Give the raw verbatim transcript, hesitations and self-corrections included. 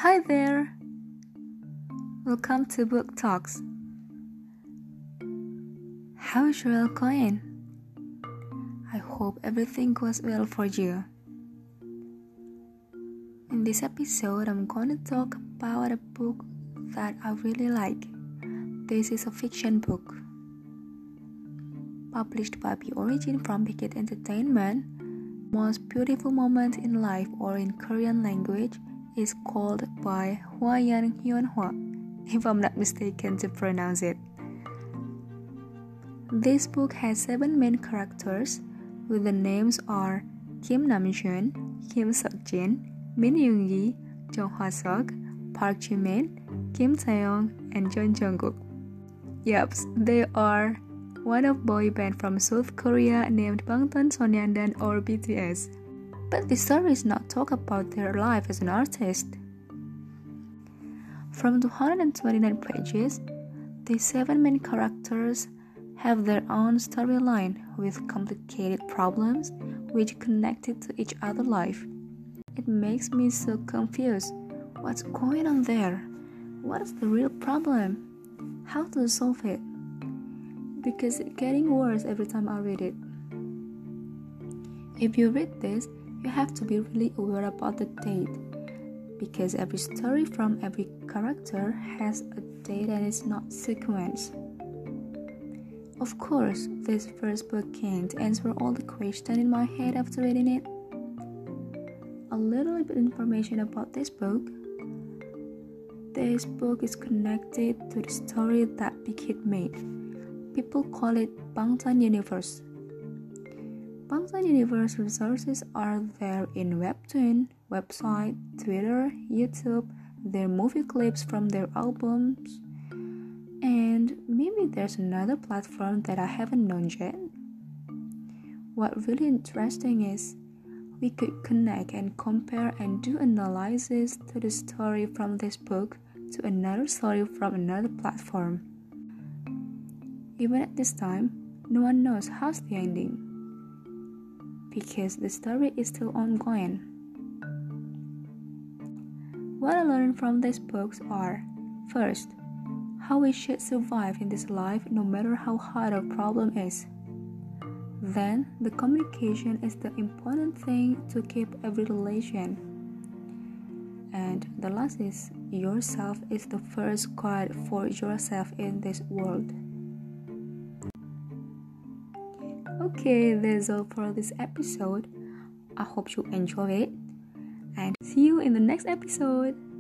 Hi there! Welcome to Book Talks. How's your all going? I hope everything goes well for you. In this episode, I'm going to talk about a book that I really like. This is a fiction book. Published by P Origin from Big Hit Entertainment, Most Beautiful Moment in Life, or in Korean language, is called by Hwayan Hyunhwa, if I'm not mistaken to pronounce it. This book has seven main characters, with the names are Kim Namjoon, Kim Seokjin, Min Yoongi, Jung Hwa-seok, Park Ji-min, Kim Taeyong, and Jeon Jungkook. Yup, they are one of boy band from South Korea named Bangtan Sonyeondan or B T S. But the story is not talk about their life as an artist. From two hundred twenty-nine pages, the seven main characters have their own storyline with complicated problems which connected to each other's life. It makes me so confused. What's going on there? What is the real problem? How to solve it? Because it's getting worse every time I read it. If you read this, you have to be really aware about the date, because every story from every character has a date and it's not sequence. Of course, this first book can't answer all the questions in my head after reading it. A little bit information about this book. This book is connected to the story that Big Hit made. People call it Bangtan Universe. Bangtan Universe resources are there in Webtoon, website, Twitter, YouTube, their movie clips from their albums, and maybe there's another platform that I haven't known yet. What really interesting is we could connect and compare and do analysis to the story from this book to another story from another platform. Even at this time, no one knows how's the ending, because the story is still ongoing. What I learned from these books are, first, how we should survive in this life no matter how hard a problem is. Then, the communication is the important thing to keep every relation. And the last is, yourself is the first guide for yourself in this world. Okay, that's all for this episode. I hope you enjoy it, and see you in the next episode.